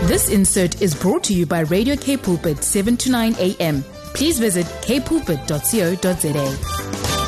This insert is brought to you by Radio K Pulpit 7 to 9 a.m. Please visit kpulpit.co.za.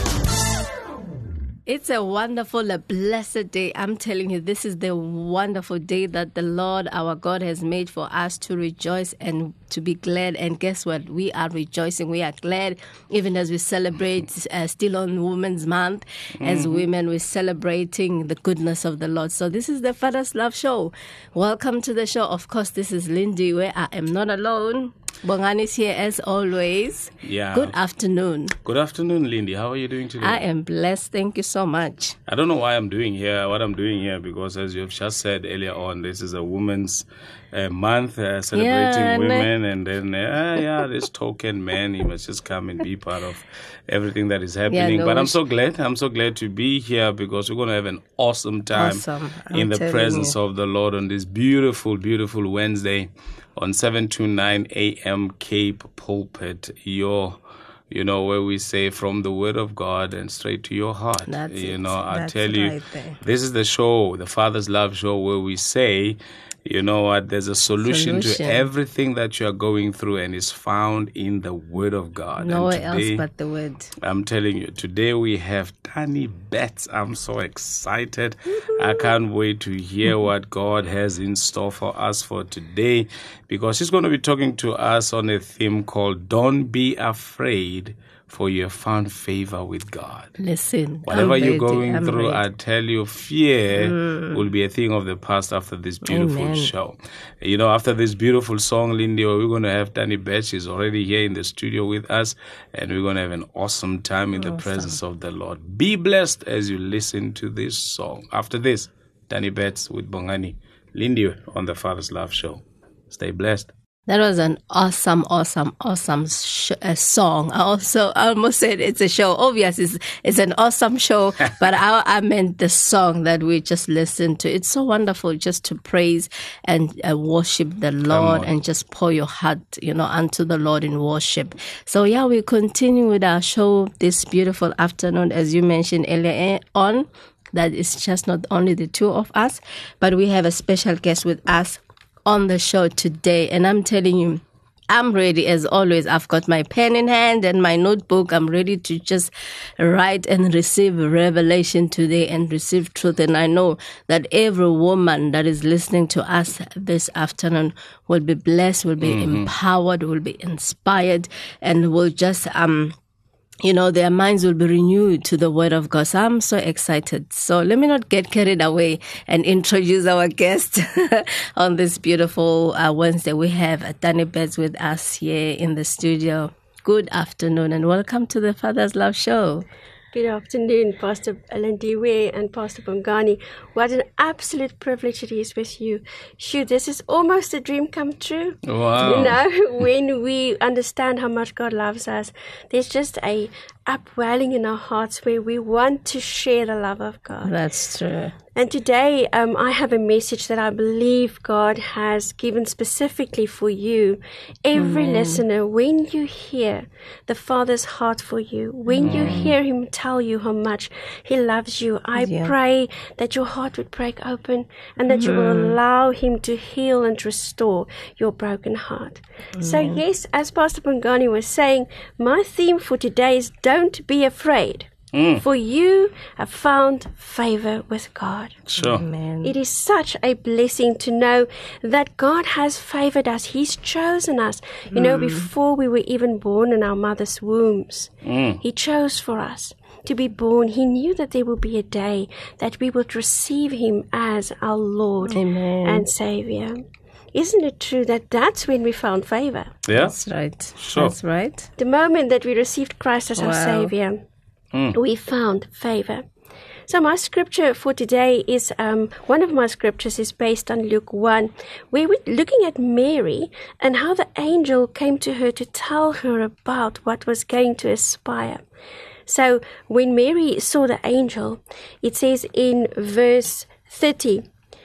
It's a wonderful, a blessed day. I'm telling you, this is the wonderful day that the Lord, our God, has made for us to rejoice and to be glad. And guess what? We are rejoicing. We are glad, even as we celebrate still on Women's Month. As women, we're celebrating the goodness of the Lord. So this is the Father's Love Show. Welcome to the show. Of course, this is Lindy, where I am not alone. Bongani is here as always. Yeah. Good afternoon. Good afternoon, Lindy. How are you doing today? I am blessed. Thank you so much. I don't know what I'm doing here, because as you have just said earlier on, this is a Women's Month celebrating women. And then, this token man, he must just come and be part of everything that is happening. But I'm so glad to be here because we're going to have an awesome time in the presence of the Lord on this beautiful, beautiful Wednesday. On 7 to 9 a.m. Cape Pulpit, where we say from the Word of God and straight to your heart. That's I tell you, this is the show, the Father's Love Show, where we say, you know what, there's a solution to everything that you are going through, and is found in the Word of God. Nowhere else but the Word. I'm telling you, today we have Tani Betts. I'm so excited. I can't wait to hear what God has in store for us for today, because she's going to be talking to us on a theme called Don't Be Afraid, for you have found favor with God. Listen, whatever you're going through, I tell you, fear will be a thing of the past after this beautiful show. After this beautiful song, Lindy, we're going to have Tani Betts. She's already here in the studio with us, and we're going to have an awesome time in the presence of the Lord. Be blessed as you listen to this song. After this, Tani Betts with Bongani, Lindy on the Father's Love Show. Stay blessed. That was an awesome song. I almost said it's a show. Obviously, it's an awesome show, but I meant the song that we just listened to. It's so wonderful just to praise and worship the Lord and just pour your heart, unto the Lord in worship. So we continue with our show this beautiful afternoon, as you mentioned earlier on. That is just not only the two of us, but we have a special guest with us on the show today. And I'm telling you, I'm ready as always. I've got my pen in hand and my notebook. I'm ready to just write and receive revelation today and receive truth. And I know that every woman that is listening to us this afternoon will be blessed, will be empowered, will be inspired, and will just their minds will be renewed to the Word of God. So I'm so excited. So let me not get carried away and introduce our guest on this beautiful Wednesday. We have Tani Betts with us here in the studio. Good afternoon and welcome to the Father's Love Show. Good afternoon, Pastor Alandiwe and Pastor Bongani. What an absolute privilege it is with you. Shoot, this is almost a dream come true. Wow. When we understand how much God loves us, there's just a upwelling in our hearts where we want to share the love of God. That's true. And today, I have a message that I believe God has given specifically for you. Every listener, when you hear the Father's heart for you, when you hear Him tell you how much He loves you, I pray that your heart would break open and that you will allow Him to heal and restore your broken heart. So yes, as Pastor Bongani was saying, my theme for today is don't be afraid. For you have found favor with God. Sure. Amen. It is such a blessing to know that God has favored us. He's chosen us. Before we were even born in our mother's wombs, He chose for us to be born. He knew that there will be a day that we would receive Him as our Lord and Savior. Isn't it true that that's when we found favor? Yeah. That's right. Sure. That's right. The moment that we received Christ as our Savior, we found favor. So my scripture for today is, one of my scriptures is based on Luke 1, where we're looking at Mary and how the angel came to her to tell her about what was going to aspire. So when Mary saw the angel, it says in verse 30,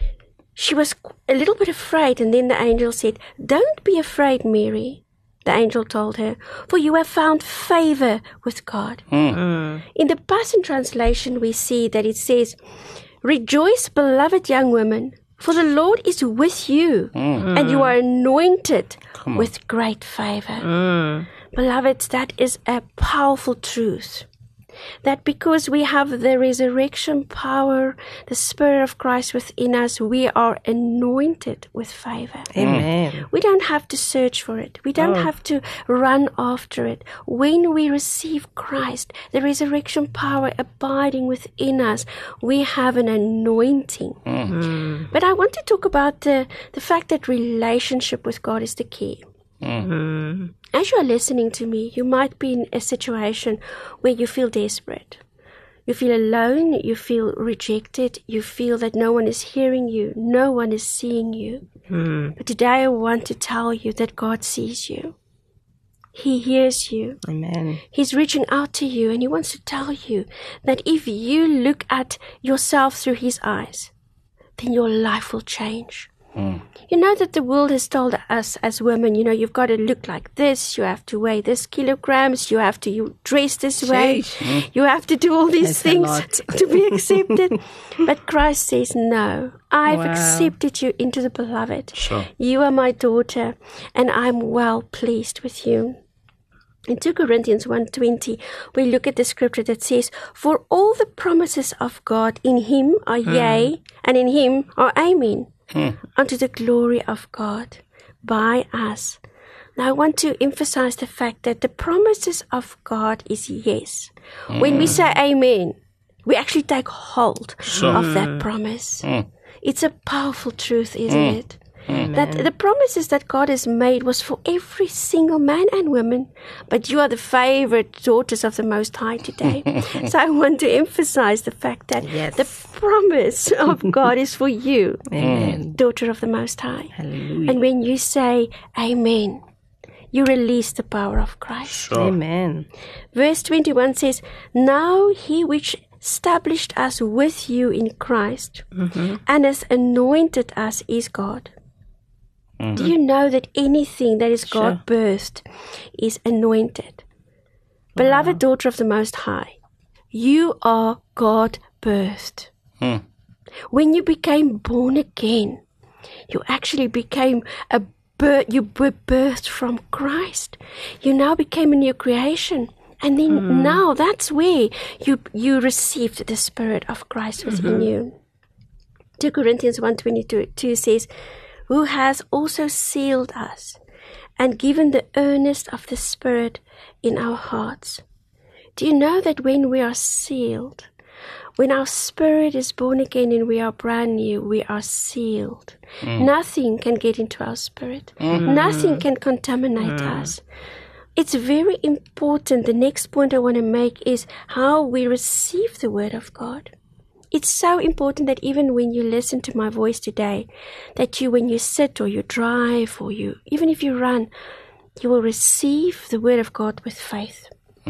she was a little bit afraid, and then the angel said, "Don't be afraid, Mary." The angel told her, "For you have found favor with God." In the Passion Translation, we see that it says, "Rejoice, beloved young women, For the Lord is with you, and you are anointed with great favor. Beloved, that is a powerful truth. That because we have the resurrection power, the Spirit of Christ within us, we are anointed with favor. Amen. We don't have to search for it. We don't have to run after it. When we receive Christ, the resurrection power abiding within us, we have an anointing. But I want to talk about the fact that relationship with God is the key. As you are listening to me, you might be in a situation where you feel desperate. You feel alone, you feel rejected, you feel that no one is hearing you, no one is seeing you. But today I want to tell you that God sees you. He hears you. Amen. He's reaching out to you, and He wants to tell you that if you look at yourself through His eyes, then your life will change. You know that the world has told us as women, you've got to look like this, you have to weigh this kilograms, you have to dress this way, you have to do all these things to be accepted. But Christ says, no, I've accepted you into the beloved. Sure. You are my daughter, and I'm well pleased with you. In 2 Corinthians 1:20, we look at the scripture that says, for all the promises of God in Him are yea, and in Him are amen. Unto the glory of God by us. Now I want to emphasize the fact that the promises of God is yes. When we say amen, we actually take hold of that promise. It's a powerful truth, isn't it? That the promises that God has made was for every single man and woman, but you are the favorite daughters of the Most High today. So I want to emphasize the fact that the promise of God is for you, daughter of the Most High. Hallelujah. And when you say amen, you release the power of Christ. Sure. Amen. Verse 21 says, now He which established us with you in Christ and has anointed us is God. Do you know that anything that is God-birthed is anointed? Beloved daughter of the Most High, you are God-birthed. When you became born again, you actually became you were birthed from Christ. You now became a new creation. And then now that's where you received the Spirit of Christ within you. 2 Corinthians 1:22 says, who has also sealed us and given the earnest of the Spirit in our hearts. Do you know that when we are sealed, when our spirit is born again and we are brand new, we are sealed. Nothing can get into our spirit. Nothing can contaminate us. It's very important. The next point I want to make is how we receive the Word of God. It's so important that even when you listen to my voice today, that when you sit or you drive or even if you run, you will receive the Word of God with faith.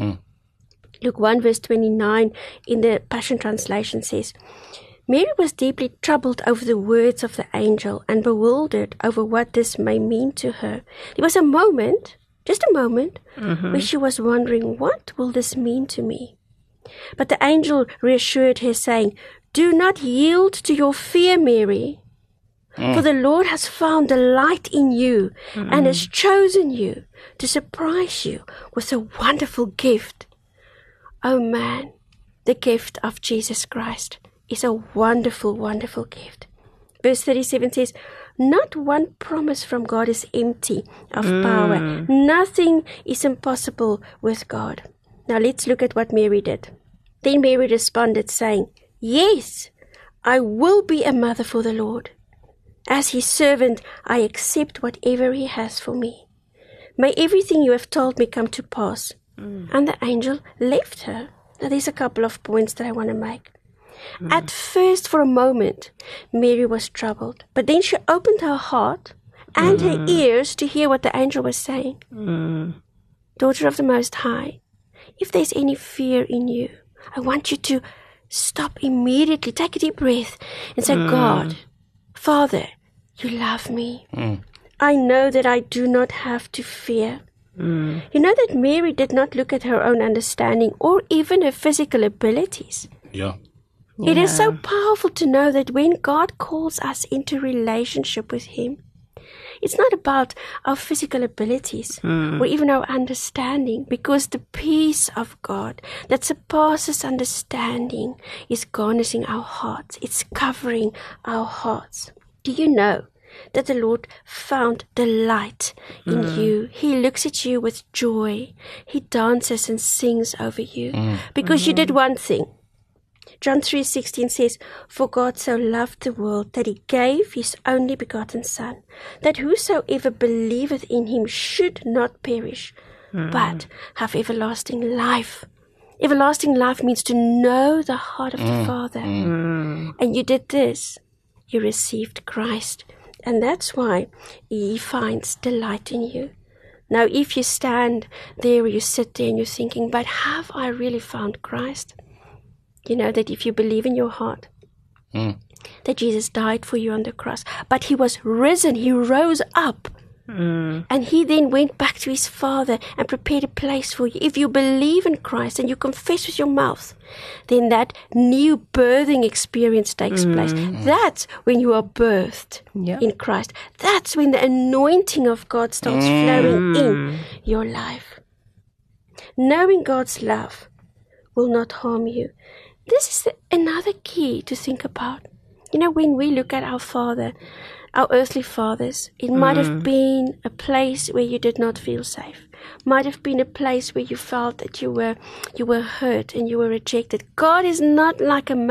Luke 1 verse 29 in the Passion Translation says, Mary was deeply troubled over the words of the angel and bewildered over what this may mean to her. There was a moment, just a moment, where she was wondering, what will this mean to me? But the angel reassured her, saying, do not yield to your fear, Mary, for the Lord has found delight in you and has chosen you to surprise you with a wonderful gift. Oh man, the gift of Jesus Christ is a wonderful, wonderful gift. Verse 37 says, not one promise from God is empty of power. Nothing is impossible with God. Now let's look at what Mary did. Then Mary responded, saying, yes, I will be a mother for the Lord. As His servant, I accept whatever He has for me. May everything you have told me come to pass. And the angel left her. Now there's a couple of points that I want to make. At first, for a moment, Mary was troubled. But then she opened her heart and her ears to hear what the angel was saying. Daughter of the Most High, if there's any fear in you, I want you to stop immediately. Take a deep breath and say, God, Father, you love me. I know that I do not have to fear. You know that Mary did not look at her own understanding or even her physical abilities. Yeah. It is so powerful to know that when God calls us into relationship with Him, it's not about our physical abilities or even our understanding, because the peace of God that surpasses understanding is garnishing our hearts. It's covering our hearts. Do you know that the Lord found delight in you? He looks at you with joy. He dances and sings over you because you did one thing. John 3:16 says, "For God so loved the world that He gave His only begotten Son, that whosoever believeth in Him should not perish, but have everlasting life." Everlasting life means to know the heart of the Father. And you did this. You received Christ. And that's why He finds delight in you. Now, if you stand there or you sit there and you're thinking, but have I really found Christ? You know that if you believe in your heart that Jesus died for you on the cross, but He was risen, He rose up, and He then went back to His Father and prepared a place for you. If you believe in Christ and you confess with your mouth, then that new birthing experience takes place. That's when you are birthed in Christ. That's when the anointing of God starts flowing in your life. Knowing God's love will not harm you. This is another key to think about. You know, when we look at our Father, our earthly fathers, it might have been a place where you did not feel safe. Might have been a place where you felt that you were hurt and you were rejected. God is not like a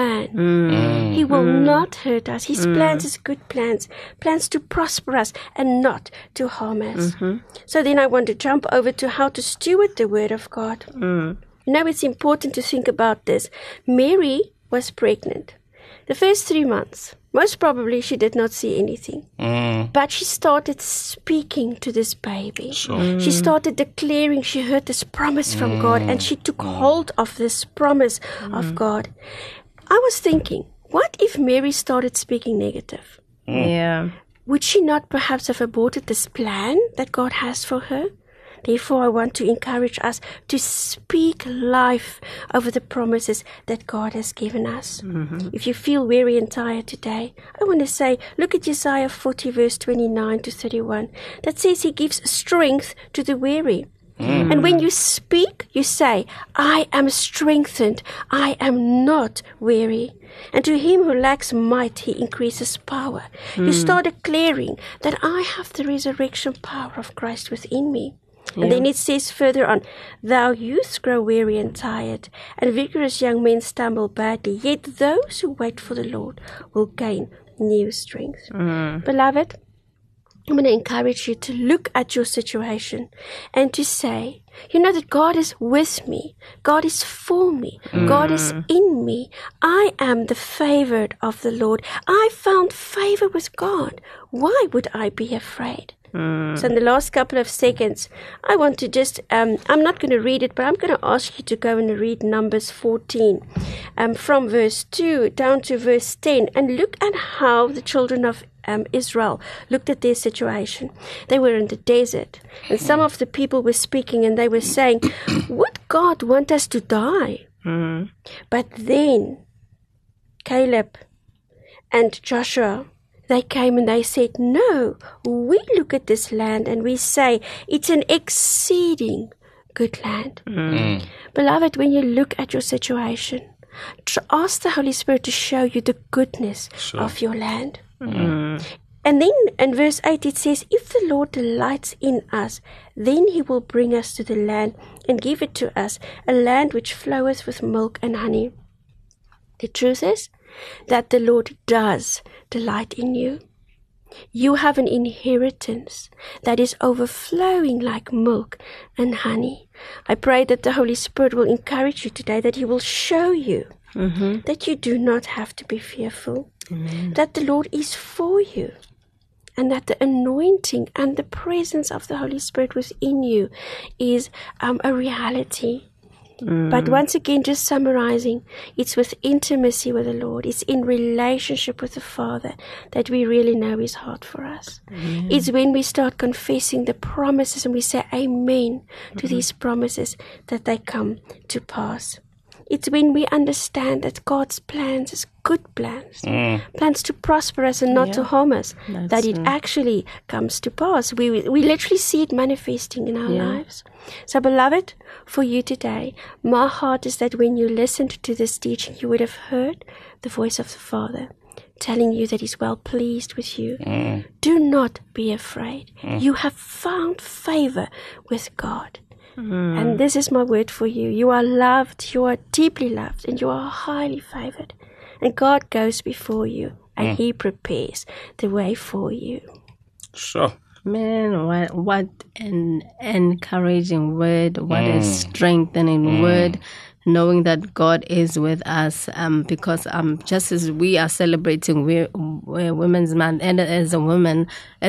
man. He will not hurt us. His plans is good plans to prosper us and not to harm us. So then I want to jump over to how to steward the Word of God. Now it's important to think about this. Mary was pregnant. The first 3 months, most probably she did not see anything. But she started speaking to this baby. She started declaring, she heard this promise from God, and she took hold of this promise of God. I was thinking, what if Mary started speaking negative? Would she not perhaps have aborted this plan that God has for her? Therefore, I want to encourage us to speak life over the promises that God has given us. If you feel weary and tired today, I want to say, look at Isaiah 40 verse 29 to 31. That says He gives strength to the weary. And when you speak, you say, I am strengthened. I am not weary. And to him who lacks might, He increases power. You start declaring that I have the resurrection power of Christ within me. And then it says further on, thou youths grow weary and tired, and vigorous young men stumble badly. Yet those who wait for the Lord will gain new strength. Beloved, I'm going to encourage you to look at your situation and to say, you know that God is with me. God is for me. God is in me. I am the favored of the Lord. I found favor with God. Why would I be afraid? So in the last couple of seconds, I want to just, I'm not going to read it, but I'm going to ask you to go and read Numbers 14 from verse 2 down to verse 10 and look at how the children of Israel looked at their situation. They were in the desert, and some of the people were speaking and they were saying, would God want us to die? But then Caleb and Joshua, they came and they said, no, we look at this land and we say it's an exceeding good land. Beloved, when you look at your situation, ask the Holy Spirit to show you the goodness of your land. And then in verse 8 it says, if the Lord delights in us, then He will bring us to the land and give it to us, a land which floweth with milk and honey. The truth is that the Lord does delight in you. You have an inheritance that is overflowing like milk and honey. I pray that the Holy Spirit will encourage you today, that He will show you that you do not have to be fearful, that the Lord is for you, and that the anointing and the presence of the Holy Spirit within you is a reality. But once again, just summarizing, it's with intimacy with the Lord. It's in relationship with the Father that we really know His heart for us. It's when we start confessing the promises and we say amen to these promises that they come to pass. It's when we understand that God's plans is good plans, plans to prosper us and not to harm us, that it actually comes to pass. We literally see it manifesting in our lives. So, beloved, for you today, my heart is that when you listened to this teaching, you would have heard the voice of the Father telling you that He's well pleased with you. Do not be afraid. You have found favor with God. And this is my word for you. You are loved, you are deeply loved, and you are highly favored. And God goes before you, and He prepares the way for you. Sure. Man, what an encouraging word, what a strengthening word, knowing that God is with us, because just as we are celebrating Women's Month, and as a woman,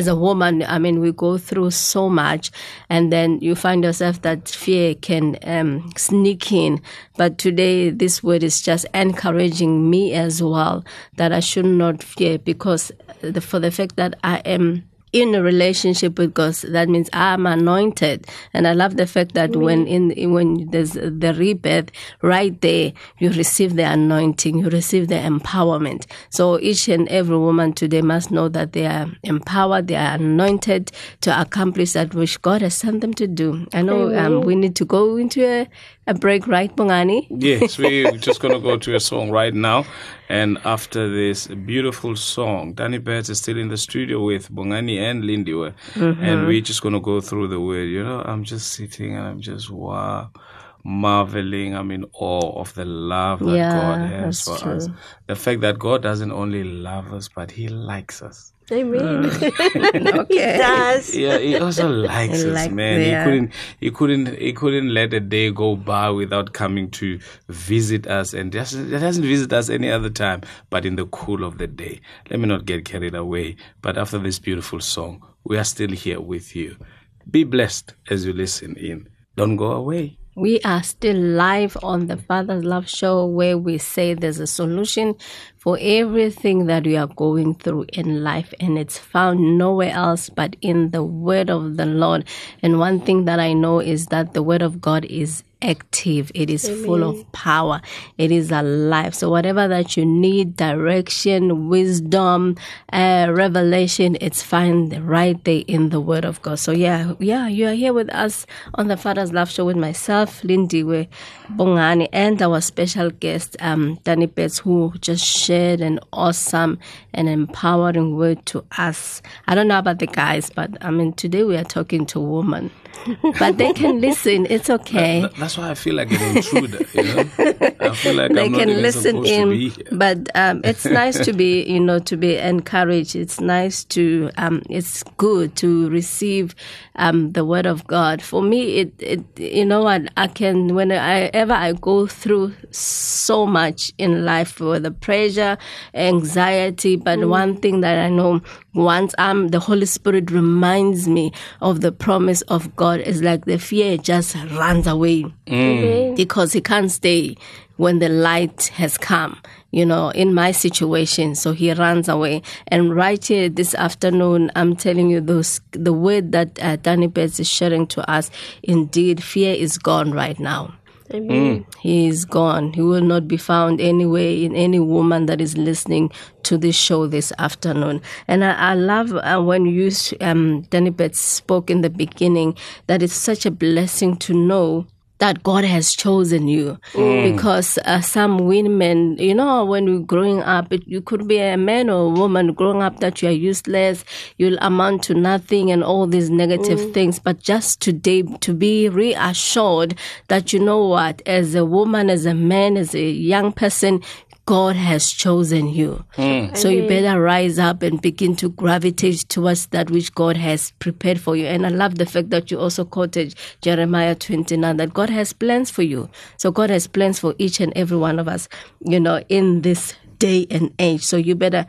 I mean, we go through so much, and then you find yourself that fear can sneak in. But today, this word is just encouraging me as well, that I should not fear, because for the fact that I am in a relationship with God, that means I'm anointed. And I love the fact that when there's the rebirth, right there, you receive the anointing, you receive the empowerment. So each and every woman today must know that they are empowered, they are anointed to accomplish that which God has sent them to do. I know we need to go into a break, right, Bongani? Yes, we're just going to go to a song right now. And after this beautiful song, Danny Betts is still in the studio with Bongani and Lindiwe. And we're just going to go through the word. You know, I'm just sitting and I'm just, marveling. I'm in awe of the love that God has for us. The fact that God doesn't only love us, but He likes us. Amen. Okay. He does. Yeah, He also likes us, man. He couldn't let a day go by without coming to visit us, and it doesn't visit us any other time, but in the cool of the day. Let me not get carried away. But after this beautiful song, we are still here with you. Be blessed as you listen in. Don't go away. We are still live on the Father's Love Show, where we say there's a solution for everything that we are going through in life, and it's found nowhere else but in the Word of the Lord. And one thing that I know is that the Word of God is active. It is full of power. It is alive. So whatever that you need, direction, wisdom, revelation, it's found right there in the Word of God. So yeah, you are here with us on the Father's Love Show with myself, Lindiwe Bongani, and our special guest, Danny Betts, who just shared an awesome and empowering word to us. I don't know about the guys, but I mean, today we are talking to women. But they can listen. It's okay. That's why I feel like an intruder. You know, I feel like they I'm not can even listen supposed in. to be here. But it's nice to be, to be encouraged. It's nice to. It's good to receive the Word of God. For me, you know what, I can whenever I go through so much in life with the pressure, anxiety. But one thing that I know, once the Holy Spirit reminds me of the promise of God, is like the fear just runs away because He can't stay when the light has come, in my situation. So He runs away. And right here this afternoon, I'm telling you the word that Danny Betts is sharing to us, indeed, fear is gone right now. Amen. He is gone. He will not be found anywhere in any woman that is listening to this show this afternoon. And I love when you, Danny Betts, spoke in the beginning, that it's such a blessing to know that God has chosen you. Because some women, when we're growing up, you could be a man or a woman growing up that you are useless, you'll amount to nothing and all these negative things. But just today, to be reassured that, you know what, as a woman, as a man, as a young person, God has chosen you. So you better rise up and begin to gravitate towards that which God has prepared for you. And I love the fact that you also quoted Jeremiah 29, that God has plans for you. So God has plans for each and every one of us, in this day and age. So you better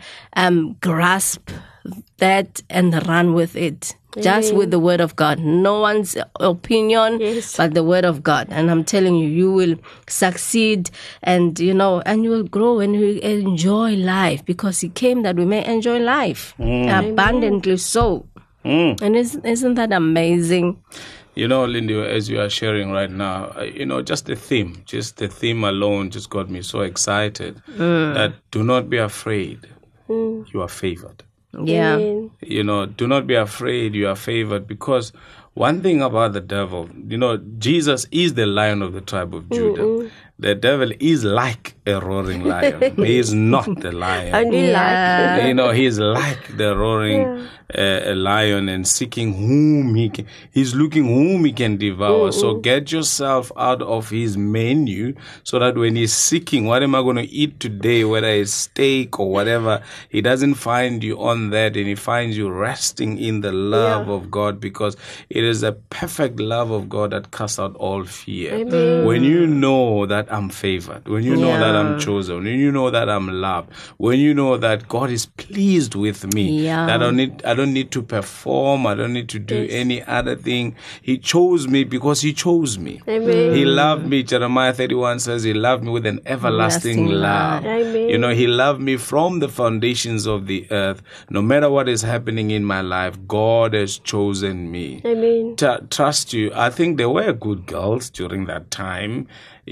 grasp that and run with it. Just with the Word of God. No one's opinion, but the Word of God. And I'm telling you, you will succeed and, and you will grow and you will enjoy life, because He came that we may enjoy life abundantly so. And isn't that amazing? You know, Lindy, as you are sharing right now, just the theme alone just got me so excited that do not be afraid. You are favored. Yeah. Do not be afraid. You are favored, because one thing about the devil, Jesus is the Lion of the tribe of Judah. The devil is like a roaring lion. He is not the lion. Only like. He is like the roaring lion and seeking whom he's looking whom he can devour. So get yourself out of his menu, so that when he's seeking, what am I going to eat today, whether it's steak or whatever, he doesn't find you on that, and he finds you resting in the love of God, because it is a perfect love of God that casts out all fear. Amen. When you know that I'm favored, when you know that I'm chosen, when you know that I'm loved, when you know that God is pleased with me, that I don't need to perform, I don't need to do any other thing. He chose me because he chose me. Amen. He loved me. Jeremiah 31 says he loved me with an everlasting love. Amen. He loved me from the foundations of the earth. No matter what is happening in my life, God has chosen me. Amen. Trust you. I think there were good girls during that time,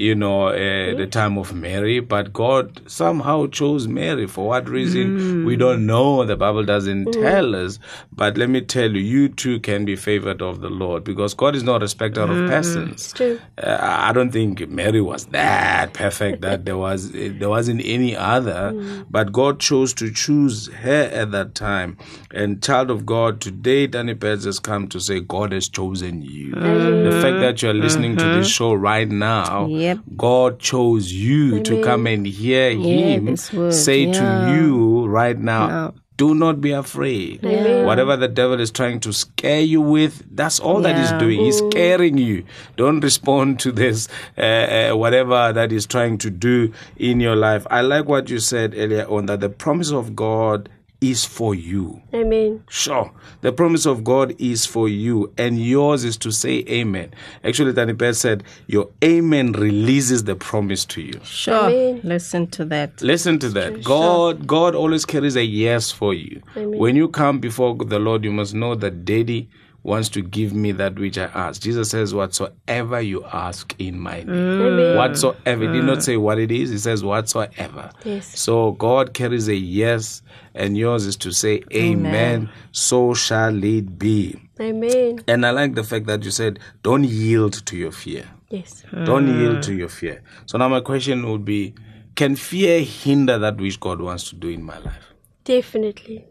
the time of Mary, but God somehow chose Mary. For what reason? We don't know. The Bible doesn't tell us. But let me tell you, you too can be favored of the Lord, because God is not a respecter of persons. It's true. I don't think Mary was that perfect that there wasn't any other, but God chose to choose her at that time. And child of God, today Danny Pez has come to say God has chosen you. The fact that you are listening to this show right now, God chose you to come and hear Him say to you right now, do not be afraid. Whatever the devil is trying to scare you with, that's all that he's doing. He's scaring you. Don't respond to this, whatever that he's trying to do in your life. I like what you said earlier on, that the promise of God is for you. Amen. Sure. The promise of God is for you, and yours is to say amen. Actually, Danny Pez said, your amen releases the promise to you. Sure. Amen. Listen to that. Listen to that. God always carries a yes for you. Amen. When you come before the Lord, you must know that Daddy wants to give me that which I ask. Jesus says, whatsoever you ask in my name. Amen. Whatsoever. He did not say what it is. He says whatsoever. Yes. So God carries a yes, and yours is to say amen. So shall it be. Amen. And I like the fact that you said, don't yield to your fear. Yes. Don't yield to your fear. So now my question would be, can fear hinder that which God wants to do in my life? Definitely.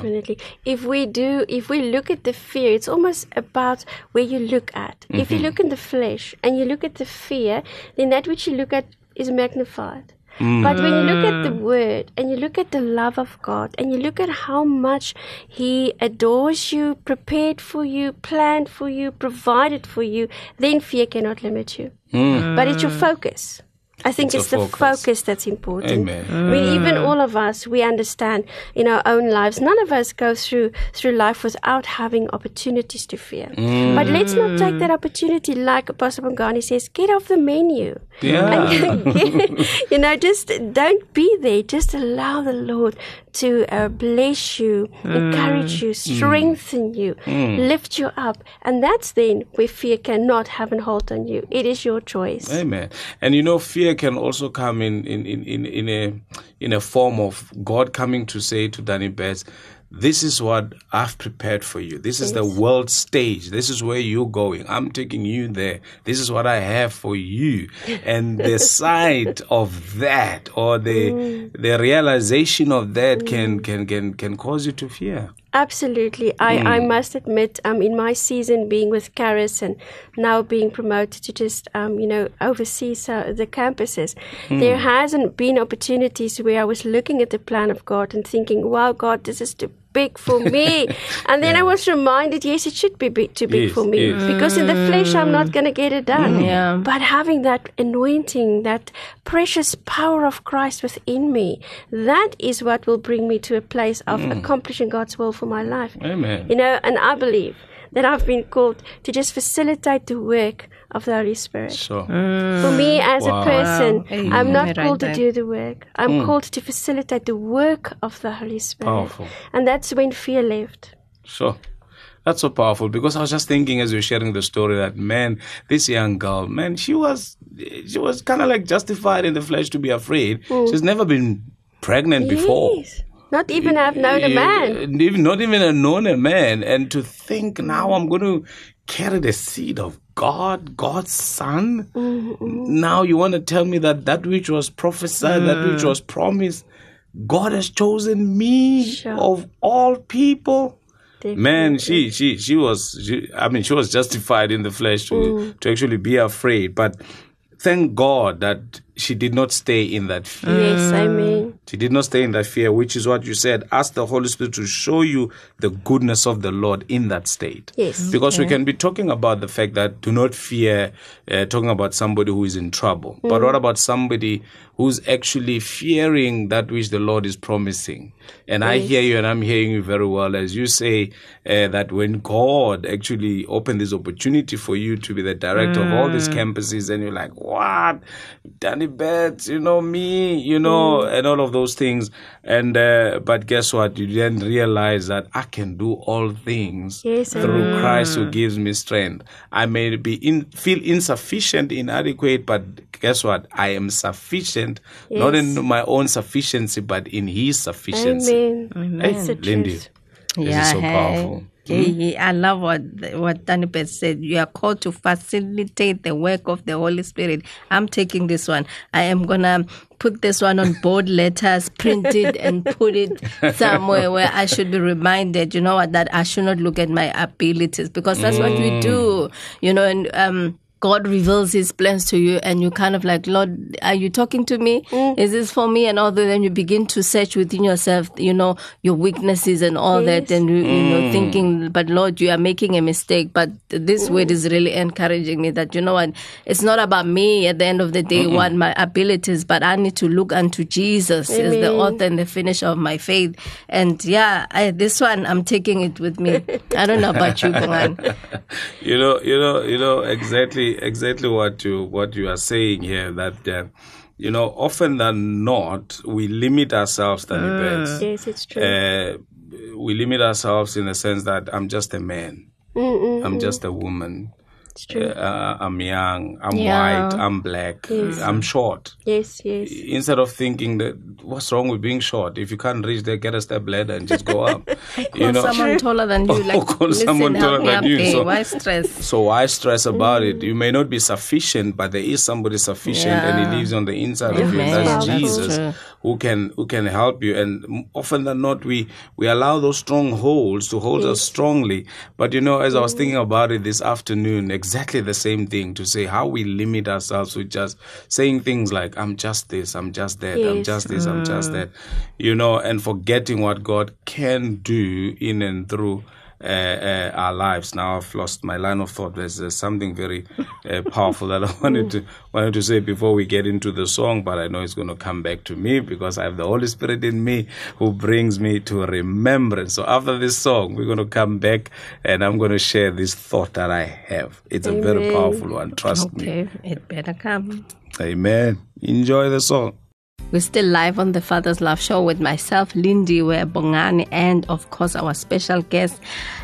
If we look at the fear, it's almost about where you look at. If you look in the flesh and you look at the fear, then that which you look at is magnified. But when you look at the word and you look at the love of God and you look at how much He adores you, prepared for you, planned for you, provided for you, then fear cannot limit you. But it's your focus. I think it's the focus that's important. Amen. I mean, even all of us, we understand in our own lives, none of us go through life without having opportunities to fear. But let's not take that opportunity, like Apostle Bongani says, get off the menu. And, just don't be there. Just allow the Lord to bless you, encourage you, strengthen you, lift you up. And that's then where fear cannot have a hold on you. It is your choice. Amen. And fear can also come in a form of God coming to say to Danny Pez, this is what I've prepared for you. This is the world stage. This is where you're going. I'm taking you there. This is what I have for you. And the sight of that, or the realization of that can cause you to fear. Absolutely. I must admit, in my season being with Caris and now being promoted to just, oversee the campuses, there hasn't been opportunities where I was looking at the plan of God and thinking, wow, God, this is too big for me. And then I was reminded, yes, it should be too big for me. Because in the flesh, I'm not going to get it done. But having that anointing, that precious power of Christ within me, that is what will bring me to a place of accomplishing God's will for my life. Amen. And I believe that I've been called to just facilitate the work of the Holy Spirit. Sure. For me as a person, I'm not called to do the work. I'm called to facilitate the work of the Holy Spirit. Powerful. And that's when fear left. Sure. That's so powerful, because I was just thinking as you're sharing the story that, man, this young girl, man, she was kind of like justified in the flesh to be afraid. She's never been pregnant before. Not even I've known a man. Not even have known a man. And to think now I'm going to carry the seed of God, God's son. Now you want to tell me that which was prophesied, that which was promised, God has chosen me of all people. Definitely. Man, she was justified in the flesh to actually be afraid. But thank God that she did not stay in that fear. Yes, amen. She did not stay in that fear, which is what you said. Ask the Holy Spirit to show you the goodness of the Lord in that state. Yes. Because we can be talking about the fact that do not fear, talking about somebody who is in trouble. But what about somebody who's actually fearing that which the Lord is promising? And I hear you, and I'm hearing you very well as you say that when God actually opened this opportunity for you to be the director of all these campuses, and you're like, what? Danny Betts, me, and all of those things. And but guess what? You then realize that I can do all things through Christ who gives me strength. I may feel insufficient, inadequate, but guess what? I am sufficient, not in my own sufficiency, but in His sufficiency. Amen. Hey, Lindy, this is so powerful. I love what Danny Betts said. You are called to facilitate the work of the Holy Spirit. I'm taking this one. I am going to put this one on board letters, print it, and put it somewhere where I should be reminded, that I should not look at my abilities, because that's what we do, and God reveals His plans to you, and you kind of like, Lord, are you talking to me? Is this for me? And all that. Then you begin to search within yourself, your weaknesses and all that, and thinking, but Lord, you are making a mistake. But this word is really encouraging me that, what, it's not about me at the end of the day, what my abilities, but I need to look unto Jesus as the author and the finisher of my faith. And this one, I'm taking it with me. I don't know about you, Bongani. Exactly what you are saying here, that often than not we limit ourselves, Danny Betts. Yes, it's true. We limit ourselves in the sense that I'm just a man, I'm just a woman. It's true. I'm young, I'm white, I'm black, I'm short. Yes. Instead of thinking that what's wrong with being short? If you can't reach there, get a step ladder and just go up. Call someone taller than you. Call someone taller than you. So why stress? So why stress about it? You may not be sufficient, but there is somebody sufficient, and He lives on the inside of you. That's Jesus, who can help you. And often than not, we allow those strongholds to hold us strongly. But as I was thinking about it this afternoon, exactly the same thing, to say how we limit ourselves with just saying things like, I'm just this, I'm just that, I'm just this, I'm just that, and forgetting what God can do in and through our lives. Now I've lost my line of thought. There's something very powerful that I wanted to say before we get into the song, but I know it's going to come back to me because I have the Holy Spirit in me who brings me to remembrance. So after this song, we're going to come back and I'm going to share this thought that I have. It's a very powerful one. Trust me. Okay, it better come. Amen. Enjoy the song. We're still live on the Father's Love Show with myself, Lindy, Bongani, and of course our special guest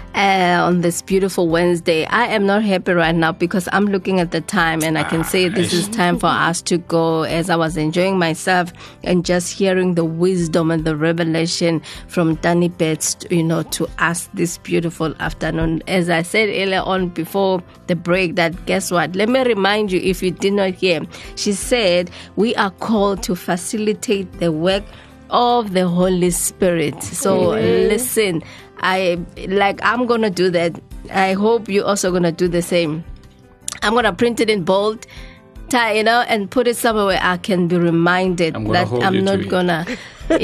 on this beautiful Wednesday. I am not happy right now because I'm looking at the time and I can say this is time for us to go, as I was enjoying myself and just hearing the wisdom and the revelation from Danny Betts, to us this beautiful afternoon. As I said earlier on before the break, that guess what? Let me remind you, if you did not hear, she said we are called to facilitate the work of the Holy Spirit. So listen, I'm going to do that. I hope you're also going to do the same. I'm going to print it in bold, and put it somewhere where I can be reminded that I'm not going to.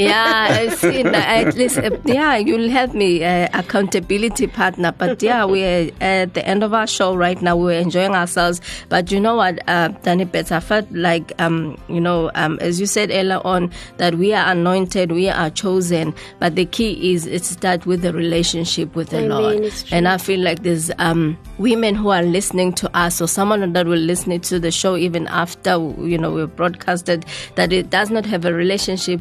At least, you'll help me, accountability partner. But we're at the end of our show right now. We're enjoying ourselves. But you know what, Danny Betts, I felt like, as you said earlier on, that we are anointed, we are chosen. But the key is it starts with the relationship with the Lord. And I feel like there's women who are listening to us, or someone that will listen to the show even after, we've broadcasted, that it does not have a relationship with the Lord.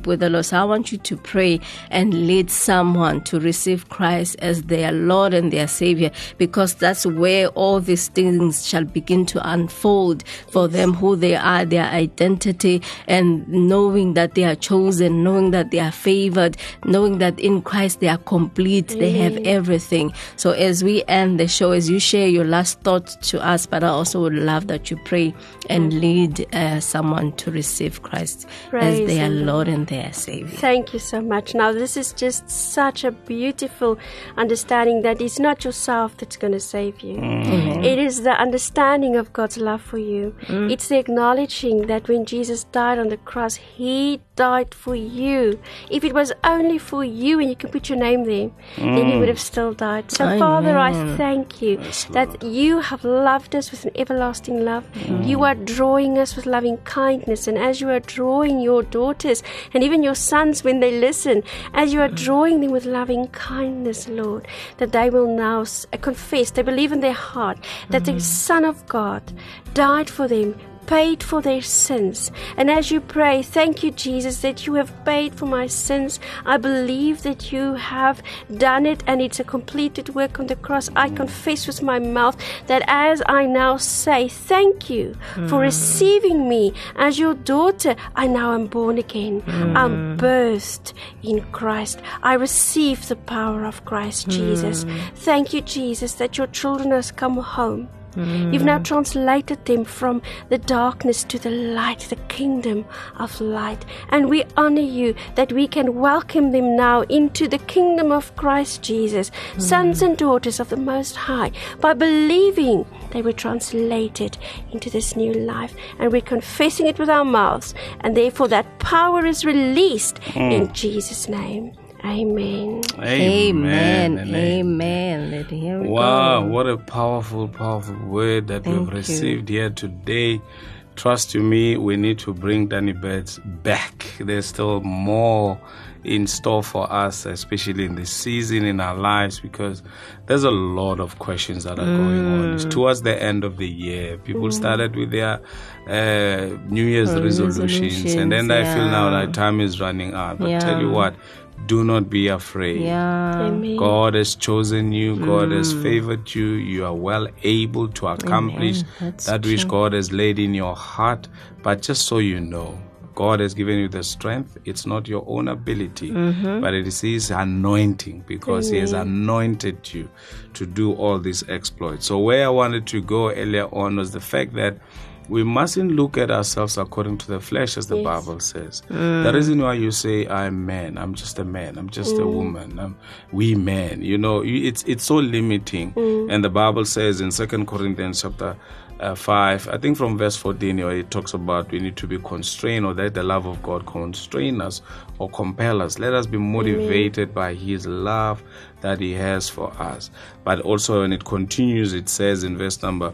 So I want you to pray and lead someone to receive Christ as their Lord and their Savior, because that's where all these things shall begin to unfold for them, who they are, their identity, and knowing that they are chosen, knowing that they are favored, knowing that in Christ they are complete, they have everything. So as we end the show, as you share your last thoughts to us, but I also would love that you pray and lead someone to receive Christ as their Lord and their Savior. Thank you so much. Now, this is just such a beautiful understanding that it's not yourself that's going to save you. It is the understanding of God's love for you. It's the acknowledging that when Jesus died on the cross, He died for you. If it was only for you and you can put your name there, then He would have still died. So, Father, I thank you that you have loved us with an everlasting love. You are drawing us with loving kindness. And as you are drawing your daughters and even your sons when they listen, as you are drawing them with loving kindness, Lord, that they will now confess, they believe in their heart that the Son of God died for them, paid for their sins. And as you pray, thank you, Jesus, that you have paid for my sins. I believe that you have done it and it's a completed work on the cross. I confess with my mouth that as I now say thank you for receiving me as your daughter, I now am born again. I'm birthed in Christ. I receive the power of Christ Jesus. Thank you, Jesus, that your children has come home. You've now translated them from the darkness to the light, the kingdom of light. And we honor you that we can welcome them now into the kingdom of Christ Jesus, sons and daughters of the Most High, by believing they were translated into this new life. And we're confessing it with our mouths. And therefore that power is released in Jesus' name. Amen. Amen. Amen. Here we wow, go. What a powerful, powerful word that we've received here today. Trust you me, we need to bring Danny Betts back. There's still more in store for us, especially in this season in our lives, because there's a lot of questions that are going on. It's towards the end of the year. People started with their New Year's resolutions, and then I feel now that time is running out. But tell you what, do not be afraid. Amen. God has chosen you. God has favored you. You are well able to accomplish that which God has laid in your heart. But just so you know, God has given you the strength. It's not your own ability, but it is His anointing, because He has anointed you to do all these exploits. So where I wanted to go earlier on was the fact that we mustn't look at ourselves according to the flesh, as the Bible says. The reason why you say, I'm man, I'm just a man, I'm just a woman, we men, you know, it's so limiting. And the Bible says in 2 Corinthians chapter 5, I think from verse 14, where it talks about we need to be constrained, or that the love of God constrain us or compel us. Let us be motivated by His love that He has for us. But also when it continues, it says in verse number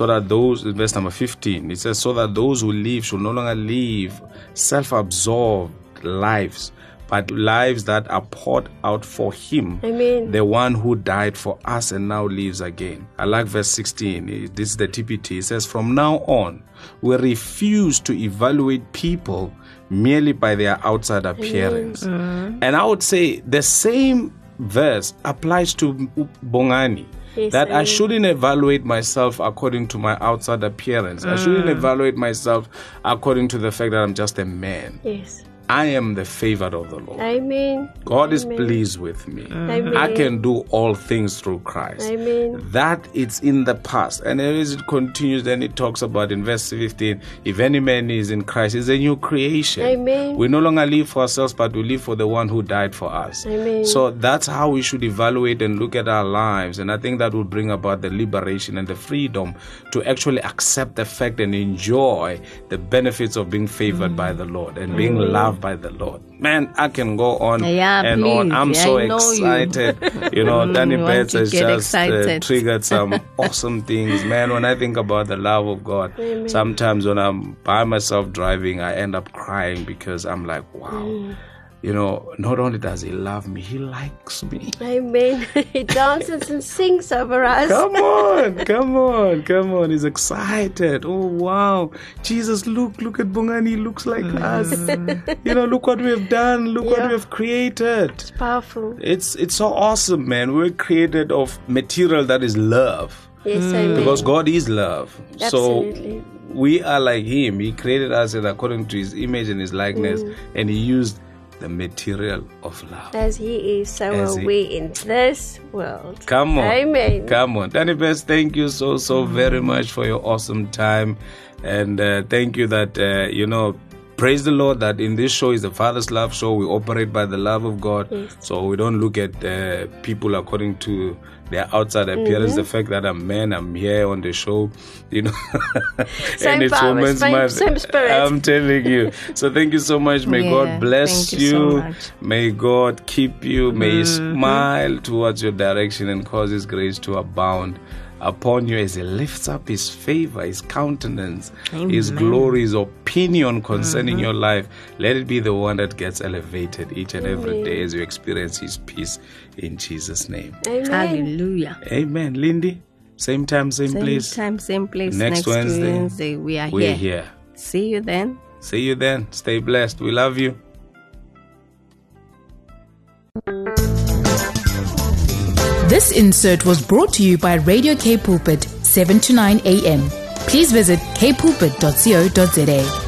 15, it says, so that those who live should no longer live self-absorbed lives, but lives that are poured out for Him, the one who died for us and now lives again. I like verse 16. This is the TPT. It says, from now on, we refuse to evaluate people merely by their outside appearance. And I would say the same verse applies to Bongani. That I shouldn't evaluate myself according to my outside appearance. I shouldn't evaluate myself according to the fact that I'm just a man. Yes. I am the favored of the Lord. Amen. God is pleased with me. Amen. I can do all things through Christ. Amen. That it's in the past. And as it continues, then it talks about in verse 15, if any man is in Christ, he's a new creation. Amen. We no longer live for ourselves, but we live for the one who died for us. Amen. So that's how we should evaluate and look at our lives. And I think that will bring about the liberation and the freedom to actually accept the fact and enjoy the benefits of being favored by the Lord and being loved by the Lord. Man, I can go on and on. I'm so excited. You know, Danny Betts has just triggered some awesome things. Man, when I think about the love of God, sometimes when I'm by myself driving, I end up crying because I'm like, wow. not only does he love me, he likes me. Amen. He dances and sings over us. Come on. He's excited. Oh, wow. Jesus, look at Bongani. He looks like us. Look what we have done. Look what we have created. It's powerful. It's so awesome, man. We're created of material that is love. Yes, amen. Because God is love. Absolutely. So we are like him. He created us according to his image and his likeness. And he used the material of love. As he is, so are we in this world. Come on. Amen. Come on. Danny Best, thank you so very much for your awesome time. And thank you that, praise the Lord that in this show is the Father's Love Show. We operate by the love of God. Yes. So we don't look at people according to their outside appearance. The fact that I'm here on the show, Same and it's power, Women's Month. same spirit. I'm telling you. So thank you so much. May God bless thank you so much. May God keep you. May He smile towards your direction and cause His grace to abound upon you as He lifts up His favor, His countenance, His glory, His opinion concerning your life. Let it be the one that gets elevated each and every day as you experience His peace in Jesus' name. Amen. Hallelujah. Amen. Lindy, same time, same place. Same time, same place. Next Wednesday, we are we're here. here. See you then. See you then. Stay blessed. We love you. This insert was brought to you by Radio K Pulpit, 7 to 9 a.m. Please visit kpulpit.co.za.